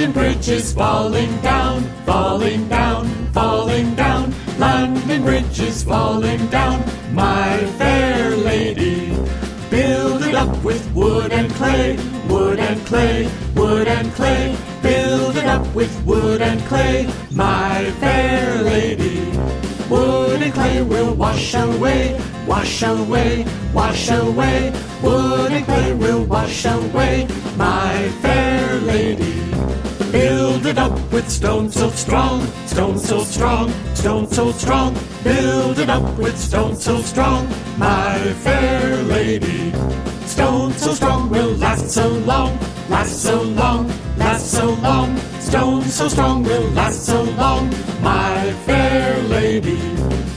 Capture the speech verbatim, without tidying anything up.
London Bridge is falling down, falling down, falling down. London Bridge is falling down, my fair lady. Build it up with wood and clay, wood and clay, wood and clay. Build it up with wood and clay, my fair lady. Wood and clay will wash away, wash away, wash away. Wood and clay will wash away, my fair lady. Build it up with stone so strong, stone so strong, stone so strong. Build it up with stone so strong, my fair lady. Stone so strong will last so long, last so long, last so long. Stone so strong will last so long, my fair lady.